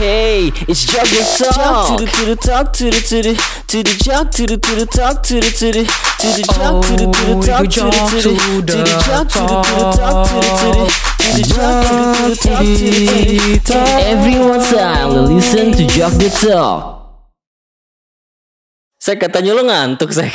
Hey, it's Jog the Talk. To the talk, to the jog, to the talk, to the jog, to the talk, to the jog, to the talk, to the jog, to the talk. Everyone's time to listen to Jog the Talk. Saya katanya lo ngantuk, saya.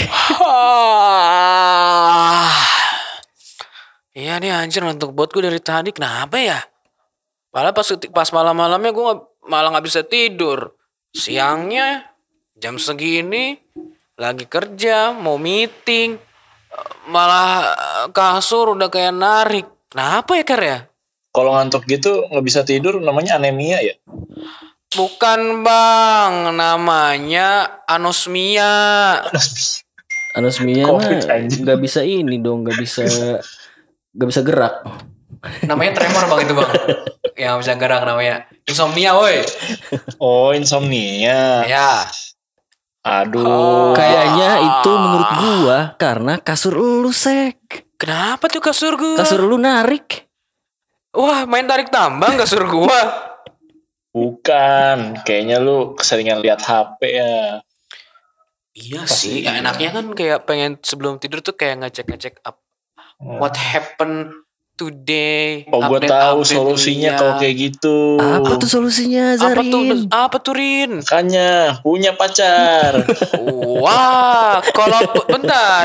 Iya nih anjir ngantuk buat gue dari tadi. Kenapa ya? Padahal pas malam-malamnya gue malah gak bisa tidur. Siangnya jam segini lagi kerja, mau meeting, malah kasur udah kayak narik. Kenapa ya Ker ya? Kalau ngantuk gitu gak bisa tidur namanya anemia ya? Bukan bang, namanya anosmia. Anosmia mah gak bisa ini dong, gak bisa gerak. Namanya tremor bang itu bang. Yang bisa gerak namanya insomnia woi. Oh insomnia. Ya. Aduh. Kayaknya itu menurut gua karena kasur lu sek. Kenapa tuh kasur gua? Kasur lu narik. Wah main tarik tambang kasur gua. Bukan. Kayaknya lu keseringan lihat HP ya. Iya sih. Ya, enaknya kan kayak pengen sebelum tidur tuh kayak ngecek up. What happened today? Oh gue tahu solusinya kalau kayak gitu. Apa tuh solusinya Zarin? Apa tuh Rin? Makanya punya pacar. Wah, kalau bentar.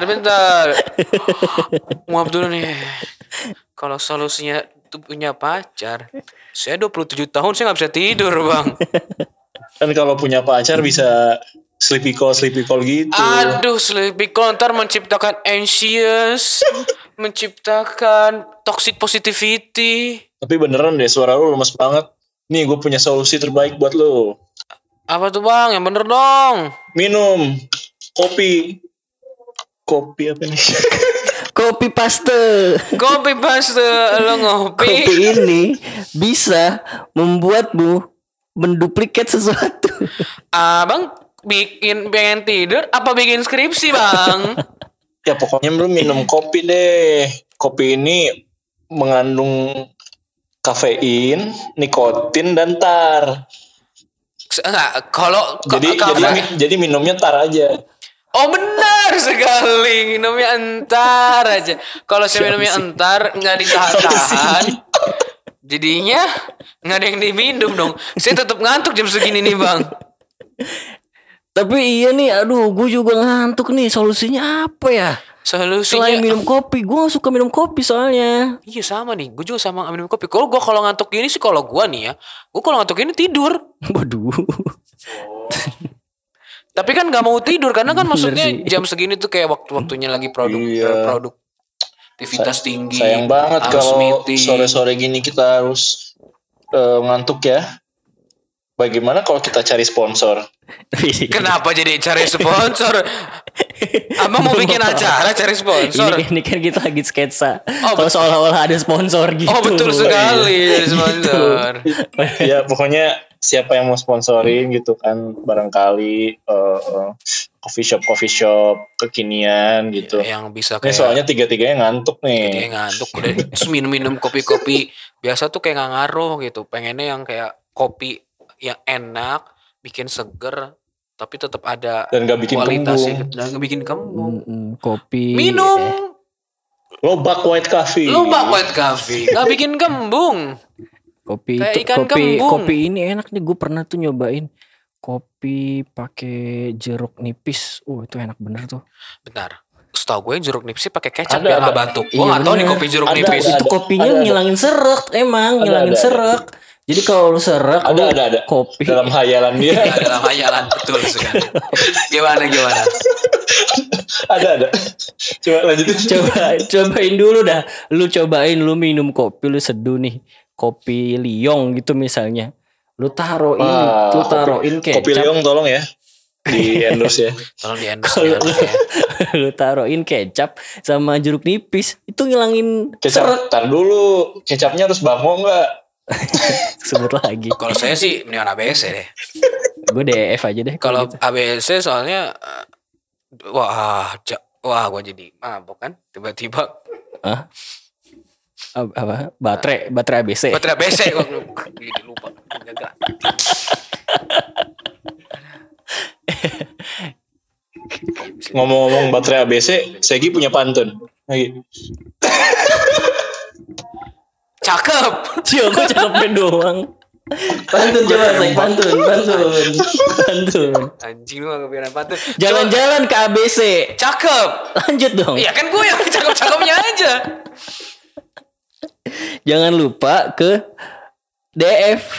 Maaf dulu nih. Kalau solusinya tuh punya pacar, saya 27 tahun saya nggak bisa tidur bang. Kan kalau punya pacar bisa sleepy call gitu. Aduh, sleepy call ntar menciptakan anxious, menciptakan toxic positivity. Tapi beneran deh suara lu lemes banget. Nih gue punya solusi terbaik buat lu. Apa tuh bang? Yang bener dong. Minum kopi apa nih? Kopi paste Lo ngopi. Kopi ini bisa membuatmu menduplikat sesuatu. Abang pengen tidur apa bikin skripsi bang? Ya pokoknya lu minum kopi deh. Kopi ini mengandung kafein, nikotin dan tar. Enggak, kalau jadi minumnya tar aja. Oh benar sekali, minumnya entar aja. Kalau saya minumnya entar nggak ditahan, jadinya nggak ada yang diminum dong. Saya tetap ngantuk jam segini nih bang. Tapi iya nih, aduh gue juga ngantuk nih. Solusinya apa ya? Selain minum kopi, gue gak suka minum kopi soalnya. Iya sama nih, gue juga sama minum kopi. Kalau ngantuk gini sih, kalau gue nih ya, gue kalau ngantuk gini tidur. Waduh. Tapi kan gak mau tidur karena kan maksudnya jam segini tuh kayak waktunya lagi produktivitas tinggi. Sayang banget kalau sore-sore gini kita harus ngantuk ya. Bagaimana kalau kita cari sponsor? Kenapa jadi cari sponsor? Abang mau bikin acara cari sponsor? Ini kan kita lagi sketsa. Kalau seolah-olah ada sponsor gitu. Oh betul sekali ada sponsor. Ya pokoknya siapa yang mau sponsorin gitu kan, barangkali coffee shop kekinian gitu. Yang bisa kayak. Soalnya tiga-tiganya ngantuk nih. Tiga ngantuk udah terus minum kopi biasa tuh kayak nggak ngaruh gitu. Pengennya yang kayak kopi yang enak, bikin seger, tapi tetap ada dan gak bikin kualitasnya dan gak bikin kembung. Kopi minum Lobak white coffee gak bikin kembung. Kopi kopi ini enak nih, gue pernah tuh nyobain kopi pakai jeruk nipis. Itu enak bener tuh. Bentar, setahu gue jeruk nipis pakai kecap biar nggak batuk. Gue nggak tahu nih kopi jeruk nipis. Itu kopinya ngilangin serak, ngilangin serak. Jadi kalau lu serak, ada kopi dalam hayalan dia. Dalam hayalan betul sekali. Gimana? Ada. Coba lanjutin. Cobain dulu dah. Lu minum kopi, lu seduh nih. Kopi Liong gitu misalnya. Lu taruhin kecap. Kopi Liong tolong ya. Di endorse ya. Tolong di endorse ya. Lu taruhin kecap sama jeruk nipis, itu ngilangin kecap. Tar dulu, kecapnya harus bango enggak? Sebut lagi. Kalau saya sih mendingan ABC deh. Gue DF aja deh. Kalau gitu. ABC soalnya wah gue jadi mabok kan tiba-tiba. Apa? Baterai ABC. Baterai ABC kok lupa. Ngomong-ngomong baterai ABC, Segi punya pantun. Lagi. Cakep. Cio, kok cakepnya doang. Pantun coba, Seg. Pantun. Anjing lu gak kepikiran pantun. Jalan-jalan ke ABC. Cakep. Lanjut dong. Iya kan gue yang cakep-cakepnya aja. Jangan lupa ke DF.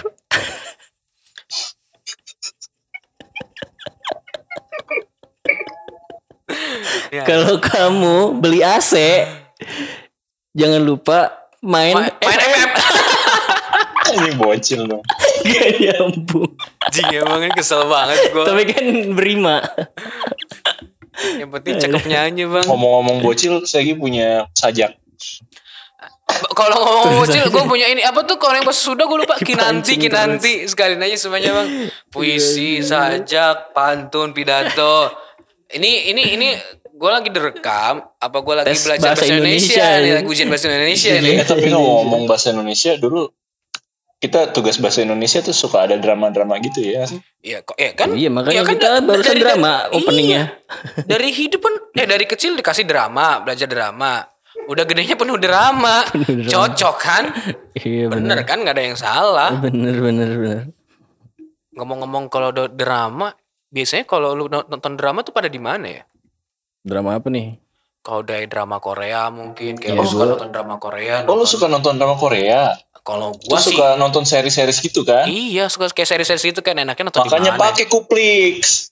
Ya. Kalau kamu beli AC, jangan lupa main FF. Ini bocil dong. Gak nyambung. Anjing emang ini kesel banget gue. Tapi kan berima. Yang penting cakepnya aja bang. Ngomong-ngomong bocil, Segi punya sajak. Kalau ngomong bocil, gue punya ini apa tuh? Kalau yang pas sudah gue lupa. Kinanti. Sekalian aja semuanya bang. Puisi, sajak, pantun, pidato. Ini gue lagi direkam. Apa gue lagi belajar bahasa Indonesia nih? Lagi ujian bahasa Indonesia nih. Tapi ngomong bahasa Indonesia dulu, kita tugas bahasa Indonesia tuh suka ada drama-drama gitu ya. Iya kok kan? Iya makanya kan kita barusan drama openingnya. Iya. Dari hidup pun dari kecil dikasih drama, belajar drama. Udah gedenya penuh drama. Cocok kan? Iya bener kan, nggak ada yang salah. Bener. Ngomong-ngomong kalau drama, biasanya kalau lu nonton drama tuh pada di mana ya? Drama apa nih? Kalau dari drama Korea mungkin kayak lu suka nonton drama Korea. Oh, lu suka nonton drama Korea? Kalau gua sih suka nonton seri-series gitu kan? Iya, suka kayak seri-seri gitu kan, enaknya nonton di mana? Makanya pakai Kuplix.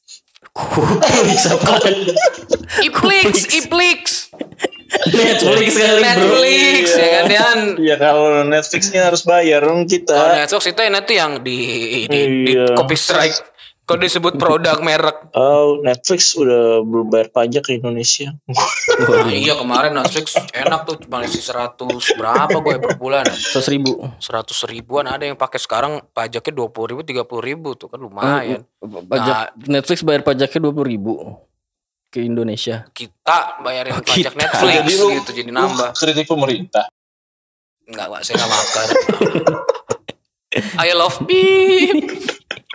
Iplix. Netflix kali bro. Netflix ya kan Yan. Iya kalau Netflixnya harus bayar dong kita. Kalau Netflix itu nanti yang di copy strike. Kalau disebut produk merek. Oh, Netflix udah belum bayar pajak ke Indonesia. Iya kemarin Netflix enak tuh cuma isi 100 berapa gue per bulan? 100.000. 100.000-an ada yang pakai sekarang pajaknya 20.000 30.000 tuh kan lumayan. Pajak Netflix bayar pajaknya 20.000 ke Indonesia. Kita bayarin pajak Netflix jadi gitu jadi nambah. Kritik pemerintah. Enggak, saya enggak makar. I love beef.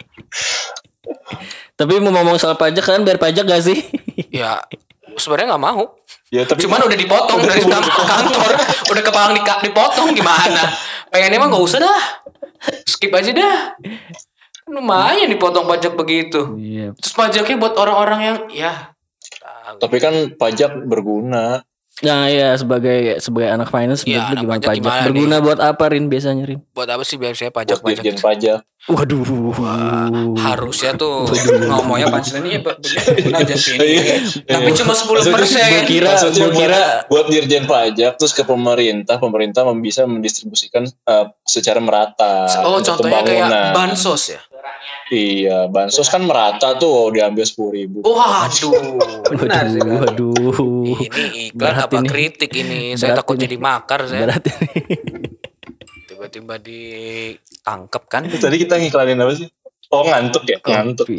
Tapi mau ngomong soal pajak kan bayar pajak gak sih? Ya sebenarnya nggak mau. Ya, tapi cuman udah dipotong dari kantor, udah kepalang dipotong gimana? Pengennya mah nggak usah dah, skip aja dah. Lumayan dipotong pajak begitu. Iya. Terus pajaknya buat orang-orang yang ya. Tapi kan pajak berguna. Nah ya sebagai anak finance ya, menurut lu gimana pajak? Gimana berguna nih? Buat apa Rin biasanya Rin? Buat apa sih biasanya Buat pajak-pajak? dirjen pajak. Waduh. Harusnya tuh ngomongnya pancelannya pajak ini. Tapi cuma 10%. Gue kira buat dirjen pajak terus ke pemerintah bisa mendistribusikan secara merata. Oh contohnya kayak bansos ya? Iya, bansos kan merata tuh diambil 10.000. Waduh, benar sih. Waduh. Ini iklan apa ini? Kritik ini? Saya takut jadi makar saya. Berat ini. Tiba-tiba ditangkep kan? Tadi kita ngiklanin apa sih? Oh ngantuk ya? Ngantuk.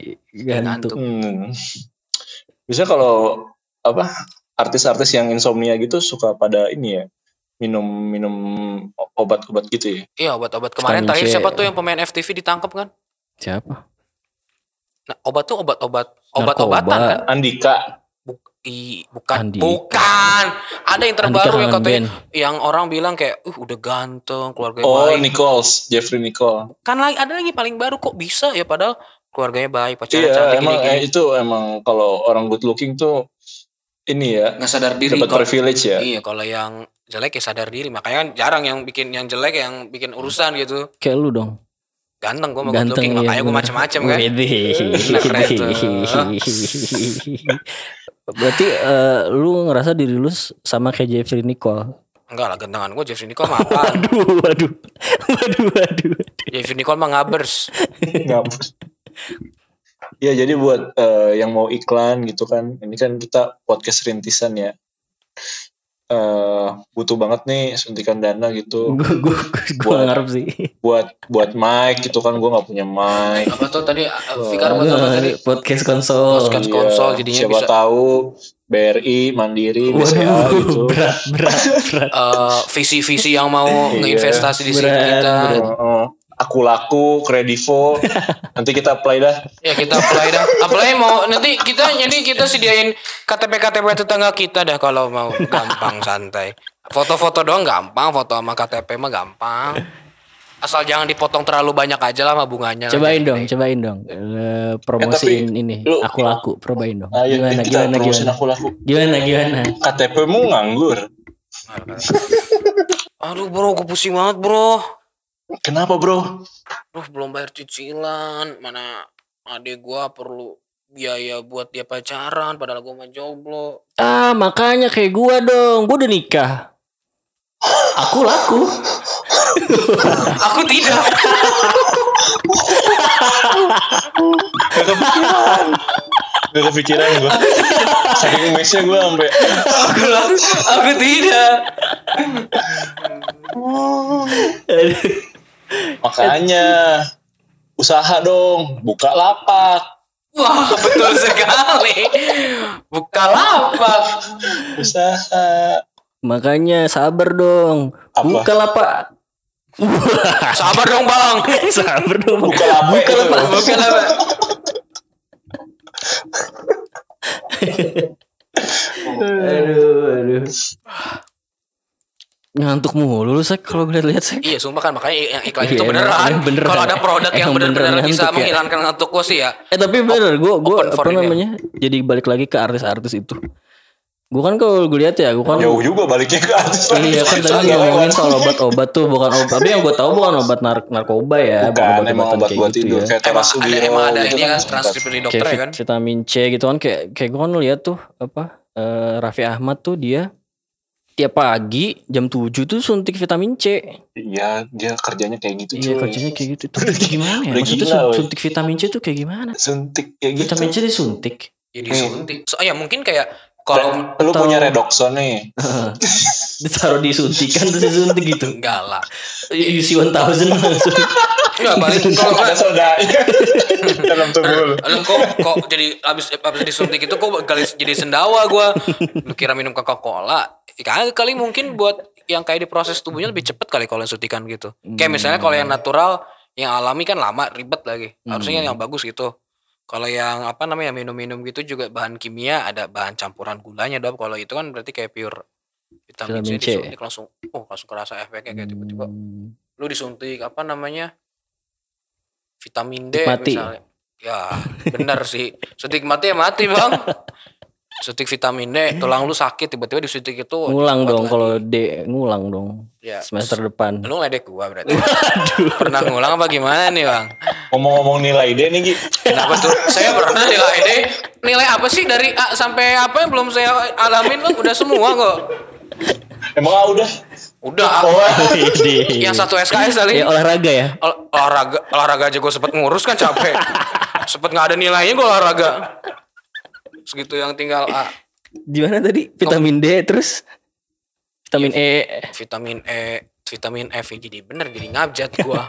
Bisa kalau apa artis-artis yang insomnia gitu suka pada ini ya minum obat-obat gitu ya? Iya obat-obat kemarin terakhir siapa tuh yang pemain FTV ditangkap kan? Siapa? Nah, obat tuh obat-obatan kan? Andika. Bukan. Andika. Bukan. Ada yang terbaru Andika yang katanya Ben. yang orang bilang kayak udah ganteng, keluarganya baik. Jeffrey Nicole. Kan ada lagi paling baru kok bisa ya padahal keluarganya baik, pacarnya Iya, cantik emang gini-gini. itu emang kalau orang good looking tuh ini ya Nggak sadar diri. Dapat privilege ya. Iya, kalau yang jelek ya sadar diri. Makanya kan jarang yang jelek yang bikin urusan gitu. Kayak lu dong. Ganteng gue mau good looking, iya, makanya gue macam-macam kan. Nah, keren tuh. Berarti lu ngerasa diri lu sama kayak Jeffrey Nicole? Enggak lah, gantengan gue Jeffrey Nicole mah apa? Waduh. Jeffrey Nicole mah ngabers. Ya jadi buat yang mau iklan gitu kan, ini kan kita podcast rintisan ya. Butuh banget nih suntikan dana gitu. Gue ngarep sih. Buat mic gitu kan, gue nggak punya mic. Apa tuh tadi? Fikar buat apa tadi? Podcast konsol. Podcast konsol jadinya siapa bisa. Tahu BRI, Mandiri, BCA gitu. Berat. Visi-visi yang mau ngeinvestasi di sini kita. Aku Laku, Kredivo. Nanti kita apply dah. Ya kita apply dah. Apply mau nanti kita sediain KTP tetangga kita dah kalau mau, gampang santai. Foto-foto doang gampang, foto sama KTP mah gampang. Asal jangan dipotong terlalu banyak aja lah sama bunganya. Cobain dong. Promosiin ini. Aku Laku, probain dong. Gimana? Aku Laku. Gimana? KTP-mu nganggur. Aduh bro, gue pusing banget bro. Kenapa bro? Duh belum bayar cicilan. Mana adik gue perlu biaya buat dia pacaran. Padahal gue mah jomblo. Makanya kayak gua dong. Gua udah nikah. Aku Laku. Aku tidak. Gak kepikiran gue. Saking mesnya gue sampai. Aku tidak. Makanya usaha dong, buka lapak. Wah betul sekali. Buka lapak. Usaha. Makanya sabar dong. Apa? Buka lapak. Sabar dong bang. Sabar dong. Buka lapak. Aduh. Ngantuk mulu lu Sek kalau gue lihat Sek. Iya sumpah kan makanya yang iklan Iya, itu beneran. Kalau ada produk yang Emang bener-bener beneran bisa ngantuk ya. menghilangkan ngantuk gue sih ya. Tapi bener gue open for apa email. namanya? Jadi balik lagi ke artis-artis itu. Gue kan kalau gue lihat ya, gue kan Jauh juga baliknya ke artis. iya kan tadi ngomongin soal obat-obat tuh bukan obat. Tapi yang gue tahu bukan obat narkoba ya, Bukan, emang obat buat gitu tidur. ya. Kayak Terasugiro. Emang ada gitu ini kan sempat. transkrip dari dokter Kayak ya kan. vitamin C gitu kan kayak gue kan lihat tuh apa Raffi Ahmad tuh dia tiap pagi jam 7 tuh suntik vitamin C. Iya, dia kerjanya kayak gitu. Iya cuy. kerjanya kayak gitu. Itu gimana ya? Udah Maksudnya gila, woy. suntik vitamin C tuh kayak gimana? Suntik kayak gitu. Vitamin C disuntik. Ya disuntik. Ya mungkin kayak kalau Lu punya redoxon nih. Ditaruh disuntikan terus disuntik gitu. enggak lah. UC 1000 langsung. Enggak paling kalau Ada sodanya dalam tubuh lu. Lu kok jadi abis disuntik itu kok jadi sendawa gua. Lu kira minum Coca-Cola? Kali mungkin buat yang kayak diproses tubuhnya lebih cepet kali kalau suntikan gitu. Kayak misalnya kalau yang natural, yang alami kan lama ribet lagi. Harusnya yang bagus gitu. Kalau yang apa namanya minum-minum gitu juga bahan kimia ada bahan campuran gulanya dong. Kalau itu kan berarti kayak pure vitamin C Vitamin C. disuntik langsung kerasa efeknya kayak tiba-tiba lu disuntik apa namanya vitamin D Mati. misalnya. Ya benar sih. Suntik mati ya mati bang. Suntik vitamin D, tulang lu sakit tiba-tiba disuntik itu. Ngulang kuat dong lagi. kalau D ngulang dong. Ya, Semester depan. Lu ngeledek gua berarti. Pernah ngulang apa gimana nih bang? Ngomong-ngomong nilai D nih Gi. Kenapa tuh? Saya pernah nilai D. Nilai apa sih dari A sampai apa yang belum saya alamin bang? Udah semua kok. Emang udah. Udah. Yang satu SKS kali. Ya olahraga ya. Olahraga aja gue sempet ngurus kan capek. Sempet nggak ada nilainya gue olahraga. Segitu yang tinggal A. Di mana tadi? Vitamin D terus vitamin E. Vitamin F jadi bener jadi ngabjat gue.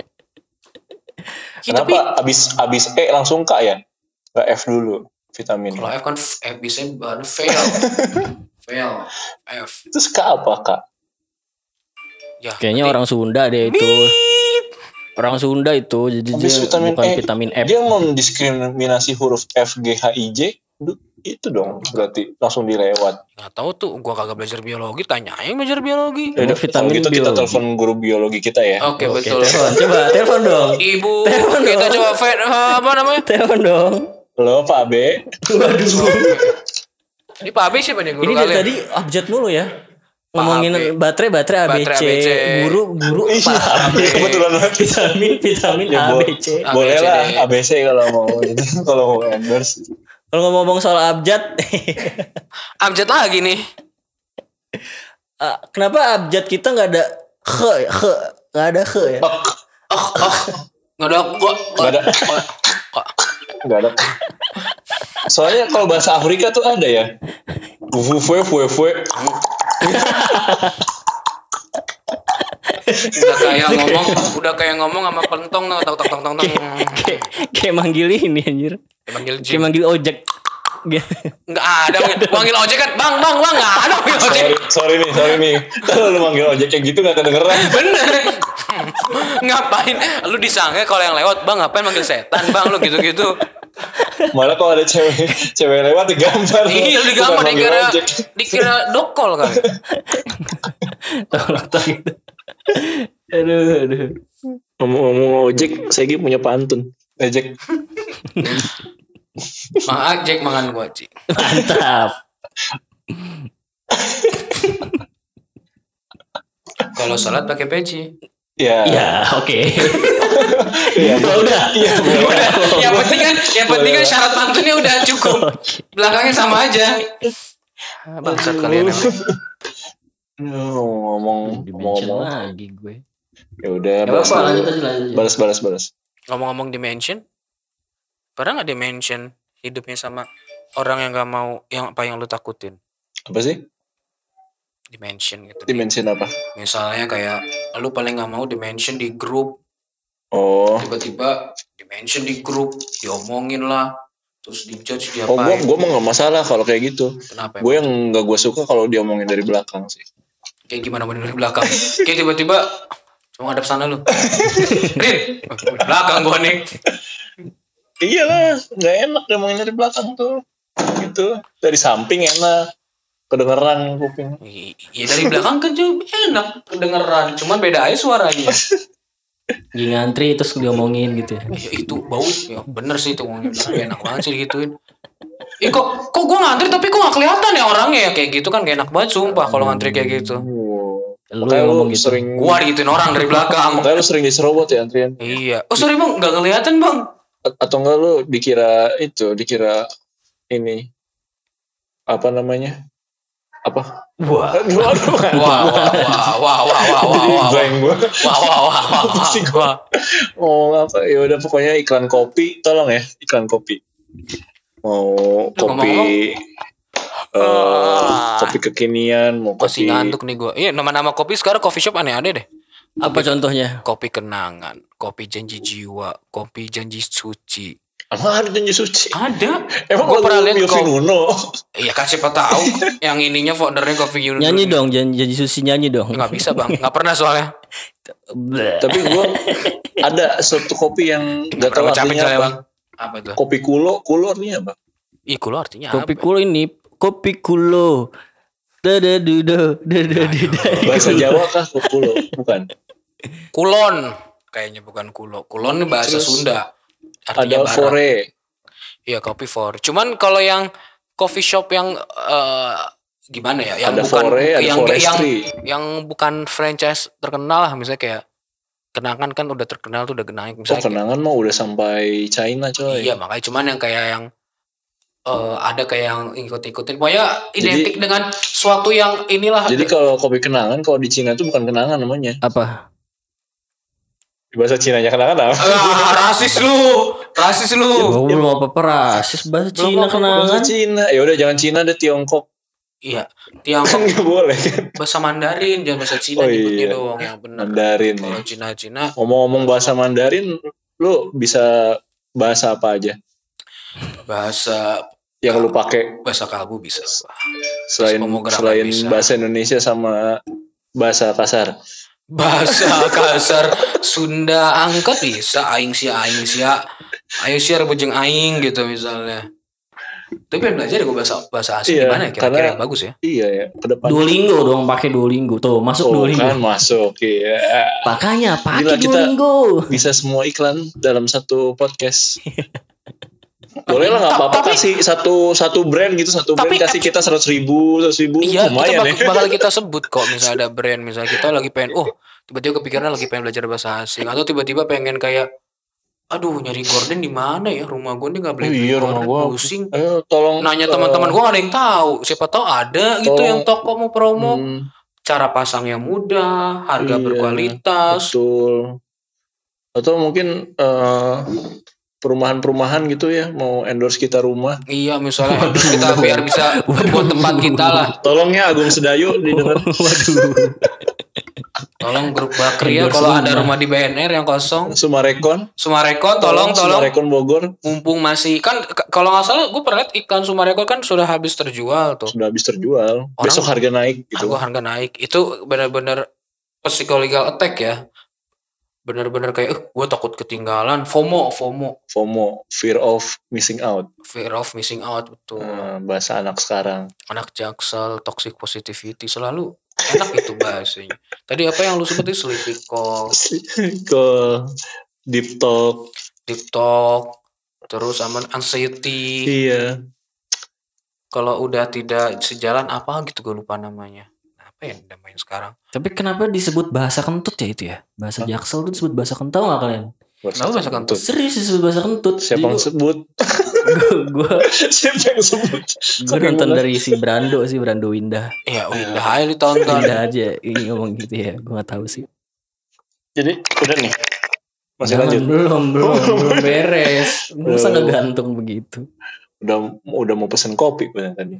Kenapa abis E langsung K ya? Gak F dulu vitamin. Kalau F kan F bisa baru fail. F. Terus K apa Kak? Ya, Kayaknya orang Sunda deh itu. Orang Sunda itu jadi Abis dia vitamin bukan E, vitamin F. dia mendiskriminasi huruf F, G, H, I, J. Itu dong berarti langsung dilewat. nggak tahu tuh gue kagak belajar biologi, tanya yang belajar biologi. Ada Kalau vitamin gitu kita biologi. telepon guru biologi kita ya. Oke Oke, betul. Coba telepon dong. Ibu Telepon kita dong. coba apa namanya? Telepon dong. Halo Pak B. Waduh. Ini Pak Abi siapa nih guru Ini dari kalian? tadi abjad mulu ya. Pak Ngomongin AB. baterai ABC. Baterai ABC. Guru Iya, Pak AB. kebetulan banget. Vitamin Ya, ABC. boleh ABCD. lah ABC kalau mau itu kalau mau endorse. Kalau ngomong soal abjad, Abjad lagi nih. kenapa abjad kita nggak ada nggak ada ya? Nggak ada gua. Nggak ada. Enggak ada. Soalnya kalau bahasa Afrika tuh ada ya. Fue. Udah kayak ngomong sama pentong tong. Kayak manggil ini anjir. Manggil Kayak Jim. manggil ojek. Enggak ada. Manggil ojek kan. Bang, enggak ada manggil ojek. Sorry nih. Kalau lu manggil ojek kayak gitu gak kedengeran. Bener. Ngapain? Lu disangka kalau yang lewat, bang ngapain manggil setan bang lu gitu-gitu. Malah kalau ada cewek lewat digambar. Iya lu digambar dikira dokol kan. Tolong gitu. Aduh. Ngomong ojek, saya punya pantun. Ojek. Mang Jack makan gua Ci. Mantap. Kalau sholat pakai peci. Ya. Ya, oke. Iya. Udah. Iya. Yang penting kan syarat pantunnya udah cukup. Belakangnya sama aja. Bangsat kalian emang. Ngomong lagi gue. Ya udah. Lanjut. Balas. Ngomong-ngomong dimension. Pernah nggak dimension hidupnya sama orang yang nggak mau yang apa yang lu takutin? Apa sih? Dimension gitu. Dimension apa? Misalnya kayak lu paling nggak mau dimension di grup. Oh. Tiba-tiba dimension di grup, diomongin lah, terus dijudge Oh, diapain. gue mah nggak masalah kalau kayak gitu. Kenapa? Gue yang nggak gue suka kalau diomongin dari belakang sih. Kayak gimana dari belakang? Kayak tiba-tiba cuma ngadep sana lu. Rin, belakang gua nih. Iyalah, nggak enak diomongin dari belakang tuh. Gitu. Dari samping enak. Kedengeran kuping. Iya dari belakang kan juga enak kedengeran, cuman beda aja suaranya. Lagi ngantri terus diomongin gitu ya. Ya itu bau, ya bener sih itu ngomongnya enak banget sih digituin. Kok gue ngantri tapi kok gak kelihatan ya orangnya ya kayak gitu kan gak enak banget sumpah kalau ngantri kayak gitu. Lu Makanya ngomong lu gitu. sering. Gua digituin orang dari belakang. Makanya lu sering diserobot ya antrian. Iya. Oh sorry bang, gak kelihatan bang. Atau enggak lu dikira ini apa namanya? Apa? Wah. Oh apa? Ya udah pokoknya iklan kopi, tolong ya iklan kopi. Mau kopi, kopi kekinian, mau Masih kopi. ngantuk nih gue. Iya nama-nama kopi sekarang coffee shop aneh-aneh deh. Apa contohnya? Kopi kenangan, kopi janji jiwa, kopi janji suci. Emang ada janji suci? Ada. Emang Gue pernah lihat Yofi Nuno. Iya kan siapa tahu yang ininya foundernya Kopi Yuno. Nyanyi dong, janji susi nyanyi dong. Nggak bisa bang, nggak pernah soalnya. Tapi gue ada suatu kopi yang nggak tahu Capek artinya apa. bang. Apa tuh? Kopi kulo artinya apa? Ih kulo artinya Kopi apa? kulo ini, kopi kulo. Bahasa Jawa kah kulo? Bukan. Kulon. Kayaknya bukan kulo. Kulon ini bahasa Terus Sunda. Ada Artinya barat. fore. Iya kopi for. Cuman kalau yang coffee shop yang gimana ya? Yang Ada bukan fore, ada forestry. yang bukan franchise terkenal lah, misalnya kayak Kenangan kan udah terkenal tuh, udah naik Oh, misalnya. Kenangan mah udah sampai China coy. Iya makanya cuman yang kayak yang ada kayak yang ikut-ikutin. Pokoknya identik dengan suatu yang inilah. Jadi kalau kopi Kenangan kalau di Cina itu bukan Kenangan namanya. Apa? Di bahasa Cinanya Kenangan apa? Rasis lu. Rasis lu. Ya, belum apa-apa rasis bahasa Cina Bahasa Kenangan. Cina. Ya udah jangan Cina deh, Tiongkok. Iya. Kan Tiongkok nggak boleh. bahasa Mandarin, jangan bahasa Cina nyebutnya doang yang benar. Mandarin Kalau ya. Cina-Cina Ngomong-ngomong bahasa Mandarin, lu bisa bahasa apa aja bahasa yang lu pakai bahasa kalbu bisa. selain Pemrograman bisa. bahasa Indonesia sama bahasa kasar? Bahasa kasar Sunda angkat bisa aing sia ayo sia rebujeng aing gitu misalnya. Tapi pengen belajar ya gue bahasa asing Iya, gimana ya kira-kira karena- yang bagus ya. Iya ya, ke depan. Duolingo dong, pakai Duolingo. Tuh, masuk Duolingo. Kan masuk ya. Makanya Gila, pakai kita- Duolingo. Bisa semua iklan dalam satu podcast. Boleh lah, nggak apa-apa, kasih satu brand gitu, Tapi- brand kasih kita 100.000 Iya, kita lumayan ya. bakal kita sebut kok misalnya ada brand, misalnya kita lagi pengen, tiba-tiba kepikiran lagi pengen belajar bahasa asing, atau tiba-tiba pengen kayak, aduh nyari gorden di mana ya, rumah gue nih nggak beli Iya, rumah gorden, gua pusing. Ayo tolong Nanya teman-teman gue nggak ada yang tahu, siapa tahu ada gitu Tolong. yang toko mau promo, Hmm, cara pasangnya mudah, harga Iya, berkualitas. betul. Atau mungkin perumahan-perumahan gitu ya, mau endorse kita rumah. Iya misalnya terus kita biar bisa buat tempat kita lah. Tolong ya Agung Sedayu didengar. Tolong grup Bakri ya Endorse kalau ada rumah. rumah di BNR yang kosong. Sumarekon. Sumarekon tolong. Sumarekon Bogor Mumpung masih kan kalau nggak salah gue pernah lihat iklan Sumarekon kan sudah habis terjual tuh. sudah habis terjual. Besok harga naik gitu. Harga naik. Itu benar-benar psychological attack ya. bener-bener kayak gue takut ketinggalan. FOMO Fear of missing out. fear of missing out, betul. Bahasa anak sekarang. Anak Jaksel, toxic positivity, selalu enak itu bahasanya. Tadi apa yang lu sebutin? Sleepy call, Ke deep talk. deep talk, terus sama anxiety. Iya. Kalau udah tidak sejalan apa gitu, gue lupa namanya. Apa ya namanya sekarang? Tapi kenapa disebut bahasa kentut ya itu ya? Bahasa Jaksel itu disebut bahasa kentut nggak kalian? Kenapa bahasa kentut? Serius disebut bahasa kentut. Siapa yang sebut? Gue Siapa yang sebut? nonton dari si Brando Windah. Ya udah aja ditonton. Windah aja ini ngomong gitu ya. Gue nggak tahu sih. Jadi udah nih. Masih Jangan, lanjut. belum beres. Masa ngegantung begitu? Udah mau pesen kopi bener tadi.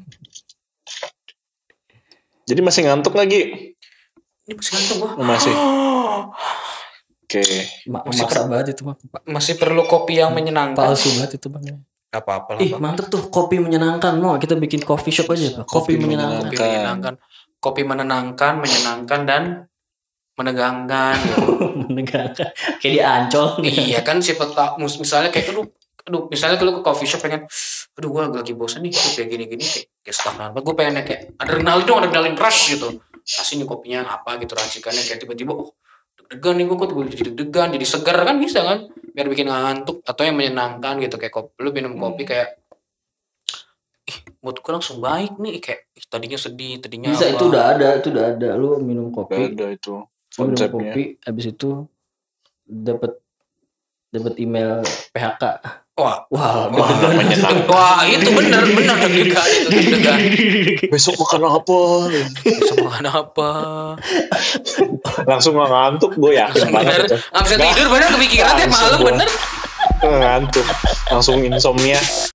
Jadi masih ngantuk lagi? Ini masih ngantuk gua. Masih. Oke. Maksa banget itu mah. Masih perlu kopi yang menyenangkan. Palsu banget itu bang. Gak apa-apa lah. Ih mantep tuh kopi menyenangkan. Mau kita bikin coffee shop aja Pak. Kopi menyenangkan. Kopi menyenangkan. Kopi menyenangkan dan menegangkan. Menegangkan. Kayak di Ancol. Iya kan, siapa tahu misalnya kayak aduh misalnya kalau ke coffee shop pengen gue lagi bosan nih kayak gini-gini kayak stagnan banget, gue pengen kayak adrenalin rush gitu, kasih nih kopinya apa gitu racikannya, kayak tiba-tiba deg-degan nih gue jadi deg-degan, jadi segar kan, bisa kan biar bikin ngantuk, atau yang menyenangkan gitu kayak lu minum kopi kayak mood gue langsung baik nih, kayak tadinya sedih, tadinya bisa apa. itu udah ada lu minum kopi. Ada itu Minum konsepnya. kopi habis itu dapat email PHK. Wah, menyenangkan. Wah, itu benar deg-degan itu deg-degan. Besok makan apa? Langsung gak ngantuk, gue yakin banget. Nggak bisa tidur, bener kepikiran tiap malam, bener. Ngantuk. Langsung insomnia.